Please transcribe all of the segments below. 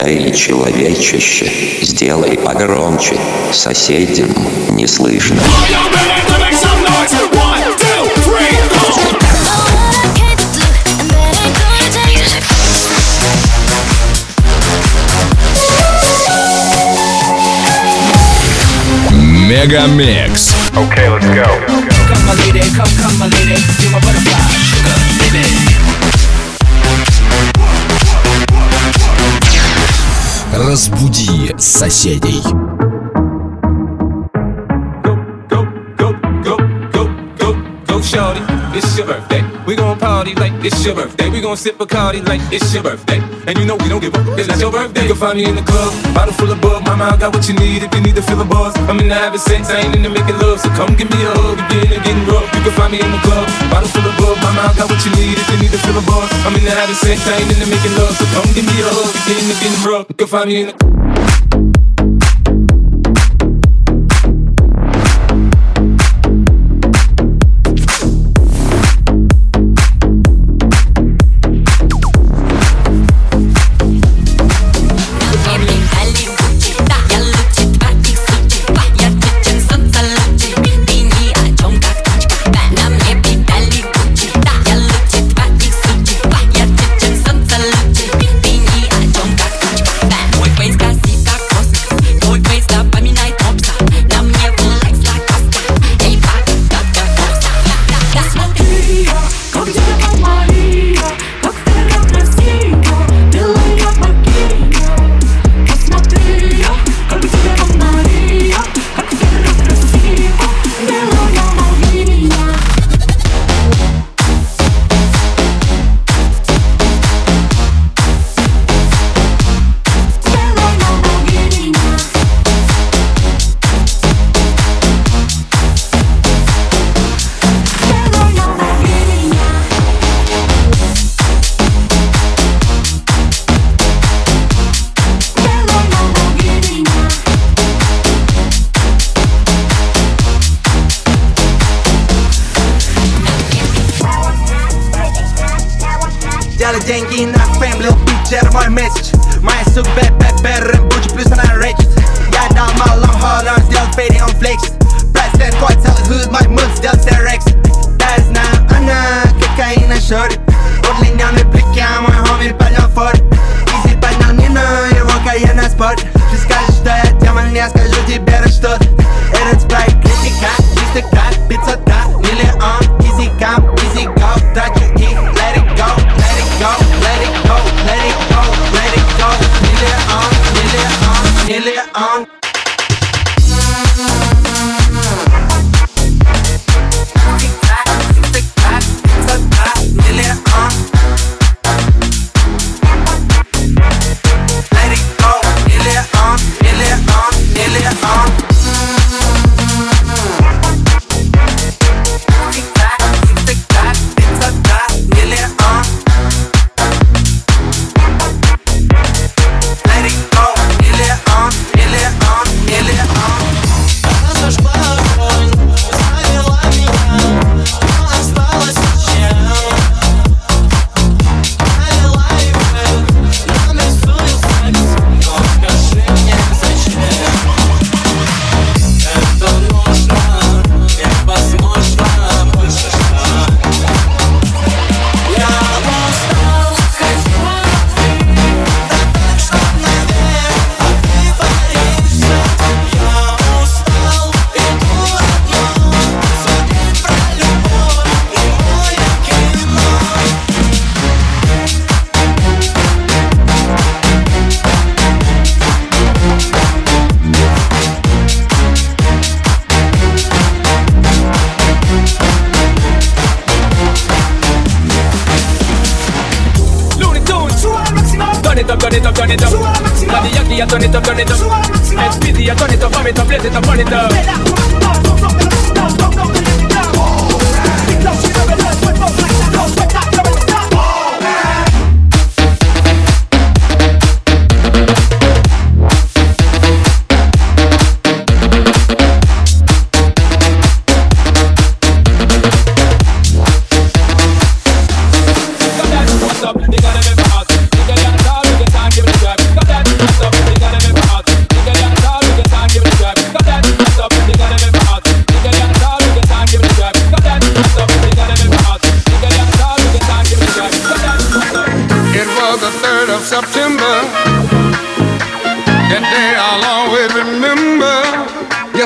Эй, человечище, сделай погромче, соседям не слышно. Мегамикс. Okay, let's go. Come my lady, come my lady, you're my butterfly, sugar, baby. Разбуди соседей. Go, shorty, it's your birthday. We gon' party like it's your birthday. We gon' sip Bacardi like it's your birthday. And you know we don't give up, it's not your birthday. You can find me in the club, bottle full of bug. Mama, I got what you need if you need to feel a buzz. I'm in the having sex, I ain't into making love. So come give me a hug if you're into getting rough. You can find me in the club, bottle full of bug. Mama, I got what you need if you need to feel a buzz. I'm in the having sex, I ain't into making love. So come give me a hug if you're into getting rough. You can find me in the Делай деньги на фэм, лил бит, это мой месседж. Моя сука рэп будет плюс она рейчит. Я дал малым ход, он сделал фейди, он флексит. Браслет, кот, целый худ, мой муд сделал стерекс. Да, я знаю, она кокаина шорит. Удлиненный блики, а мой хоми поднял форт. Изи поднял Нину, его кайен на спорт. Ты скажешь, что я демон, я скажу тебе что-то. Этот спрайт, критика, 300 крат, 500 крат, миллион. Easy come, easy go, трачу их, let it go. Go, let it go, let it go, let it go. Million. turn it up. Daddy Yankee, turn it up, turn it up. SPD, turn it up, warm it up, blaze it up, burn it up. What's up? You gotta never ask. You gotta talk, you can give it a try. Got that.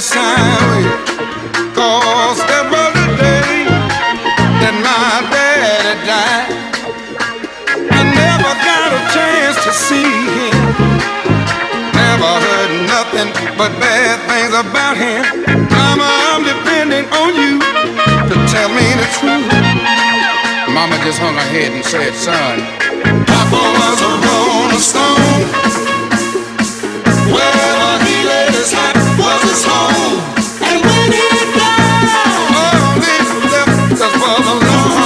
last time, 'cause there was a day that my daddy died. I never got a chance to see him. Never heard nothing but bad things about him. Mama, I'm depending on you to tell me the truth. Mama just hung her head and said, son, Papa was a rolling stone. Wherever he laid his hat was his home. And when he died, all this left us was alone.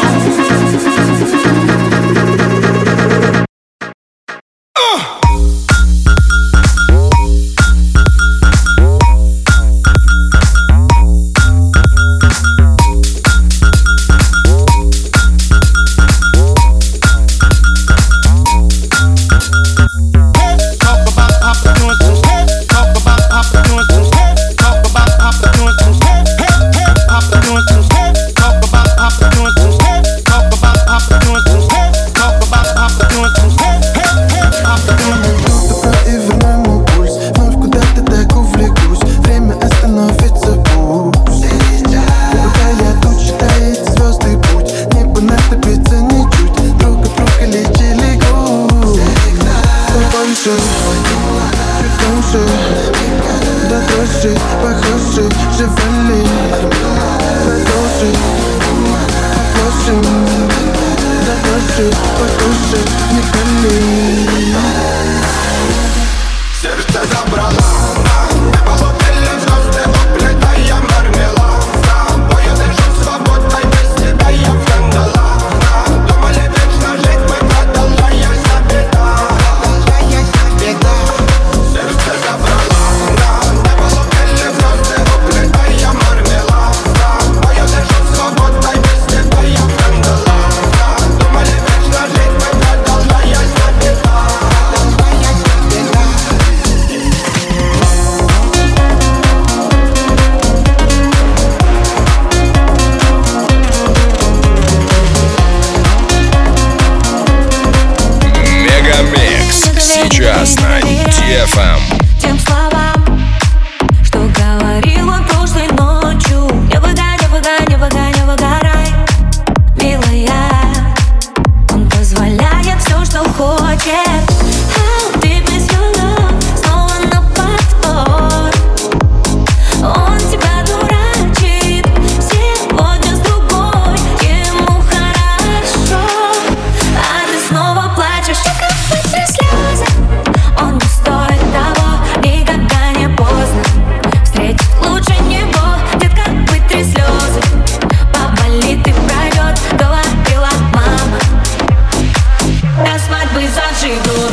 Сейчас на DFM. Тем словам, что говорил он прошлой ночью. Не выгоняй, не выгоняй, не выгорай, милая. Он позволяет все, что хочет. How deep is your love? Снова на повтор. Он тебя дурачит сегодня с другой. Ему хорошо, а ты снова плачешь. Вытри слезы. Он не стоит того, никогда не поздно встретить лучше него. Детка, вытри слезы. Поболит и пройдет, говорила мама. До свадьбы заживут.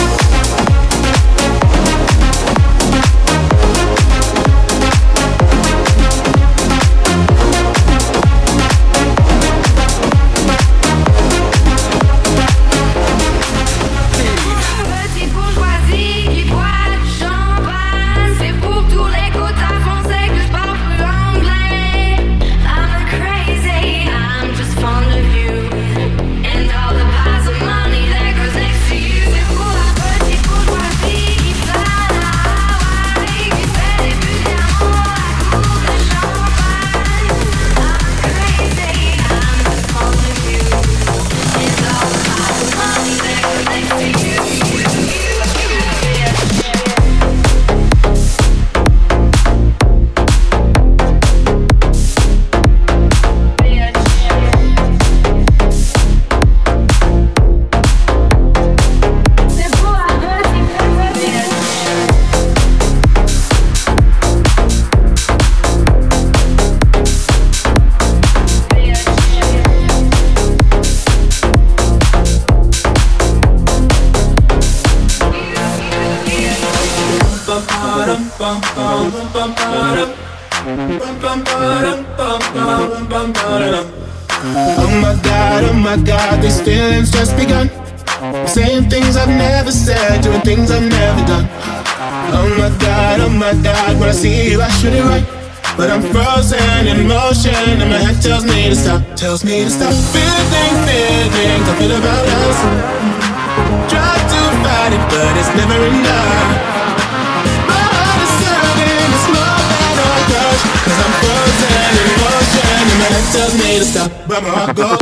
Oh my God, these feelings just begun. Saying things I've never said, doing things I've never done. Oh my God, when I see you I shoot it right. But I'm frozen in motion and my head tells me to stop. Tells me to stop. Feeling things I feel about us. Try to fight it but it's never enough. My heart is hurting, it's more than close, 'cause I'm frozen in motion, and my head tells me to stop, but my heart goes.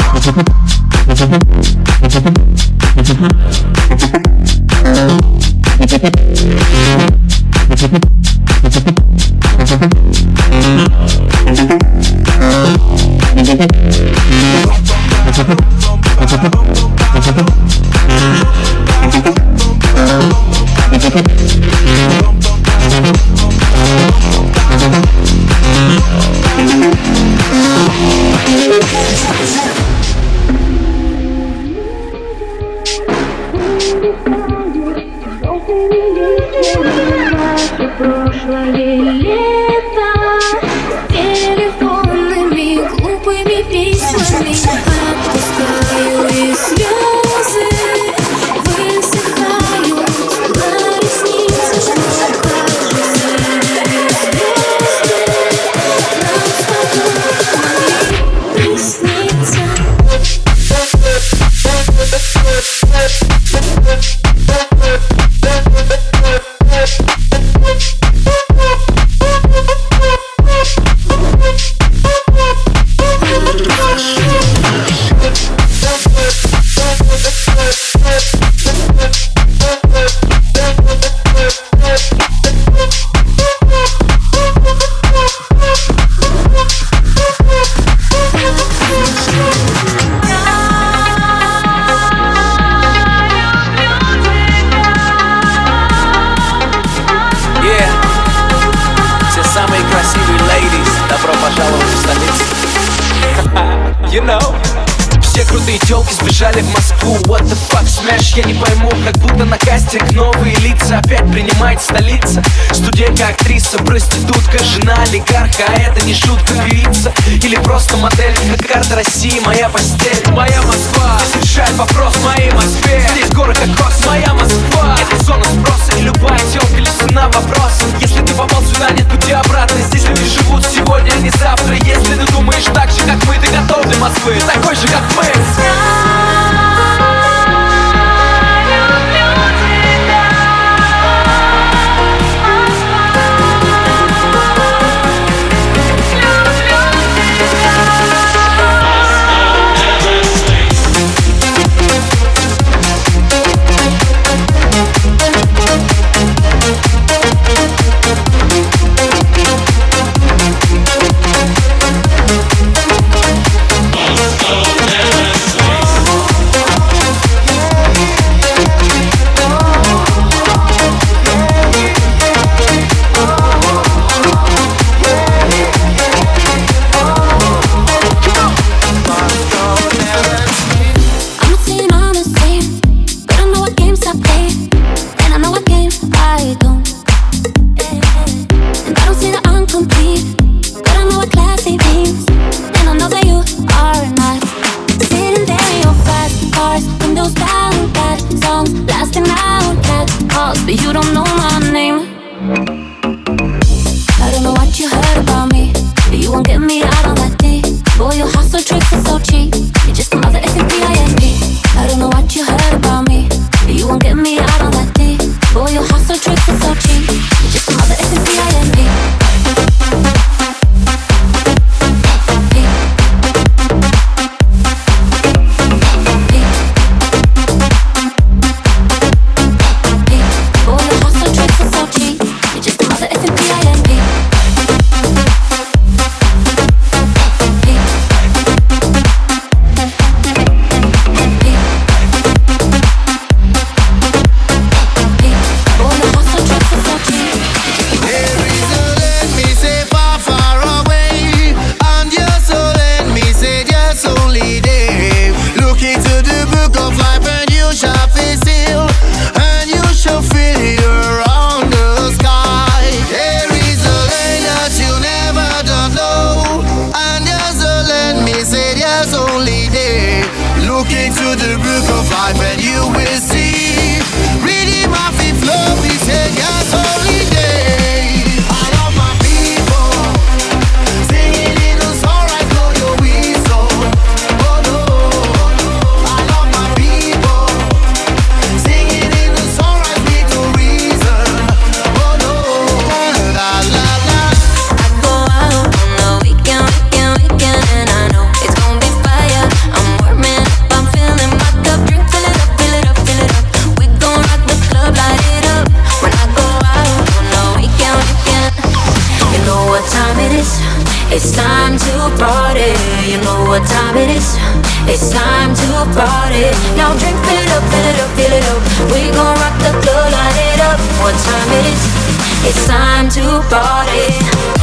Прошлое лето с телефонными глупыми письмами отпускаю, и слезы высыхают на ресницах. Как же звезды нам с тобой могли присниться. You know, все крутые тёлки сбежали в Москву. What the fuck, smash, я не пойму. Как будто на кастинг новые лица опять принимает столица. Студентка, актриса, проститутка, жена олигарха. А это не шутка, певица или просто модель. Как карта России, моя постель. Моя Москва, здесь решает вопрос в моей Москве. Здесь горы кокос, моя Москва. Это зона спроса, и любая тёлка лезет на вопрос. Если ты попал сюда, нет пути обратно. Здесь люди живут сегодня, а не завтра. Если ты думаешь так же, как мы, ты готов для Москвы, такой же, как мы. But you don't know my name. I don't know what you heard about me, but you won't get me out on that day. Boy, your hustle tricks are so cheap. You're just another S&P. I don't know what you heard about me, but you won't get me out on that day. Boy, your hustle tricks are so cheap. You're just another S&P. It's time to party. You know what time it is. It's time to party. Now drink, fill it up, fill it up, fill it up. We gon' rock the club, light it up. What time it is. It's time to party.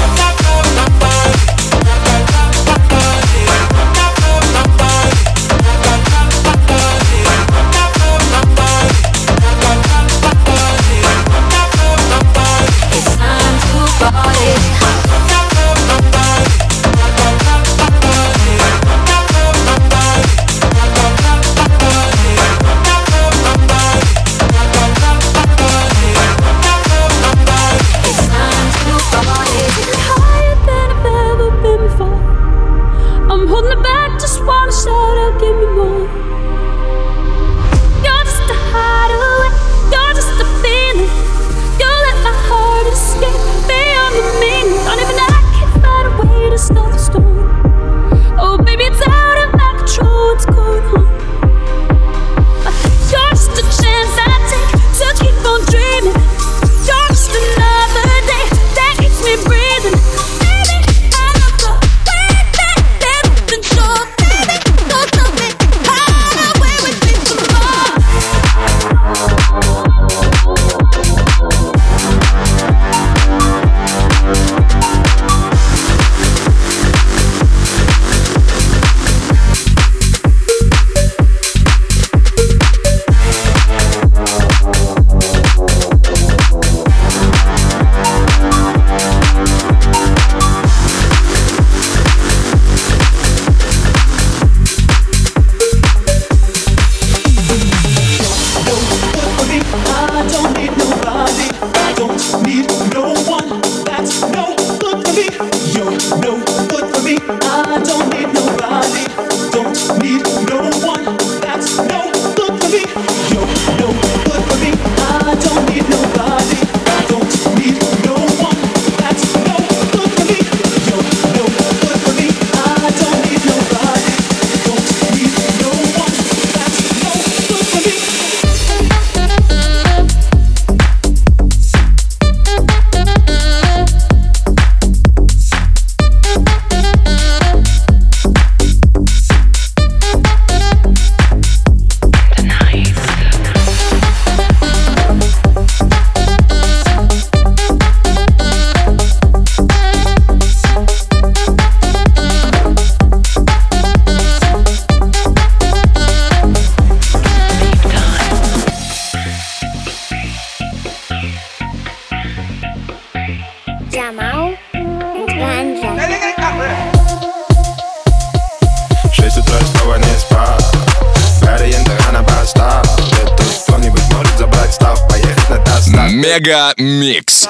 Мега Микс.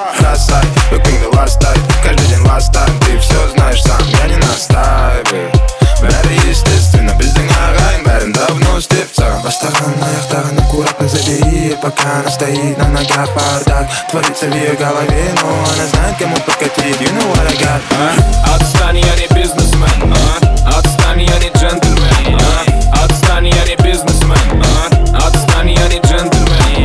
Каждый день last time, ты все знаешь сам, я не настаиваю. Бәрі естественно, біздің ағайын бәрін давно істеп саған. Бастаған аяқтарын аккуратно забери, пока она стоит на ногах. Бардак творится в ее голове, но она знает, кому подкатить. You know what I got. Отстань, я не бизнесмен. Отстань, я не джентльмен. Отстань, я не бизнесмен. Отстань, я не джентльмен.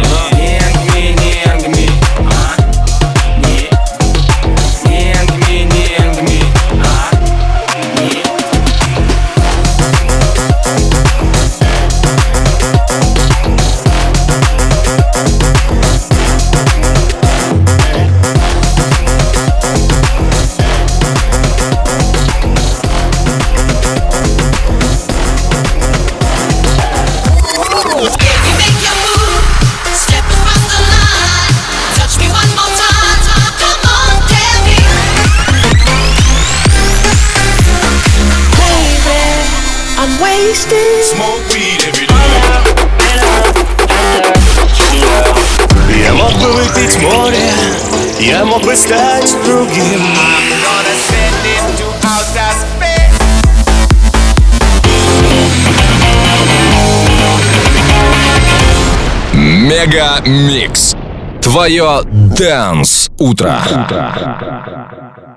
Smoke weed every day. Я мог бы выпить море, я мог бы стать другим. Мега Микс. Твое Dance утро.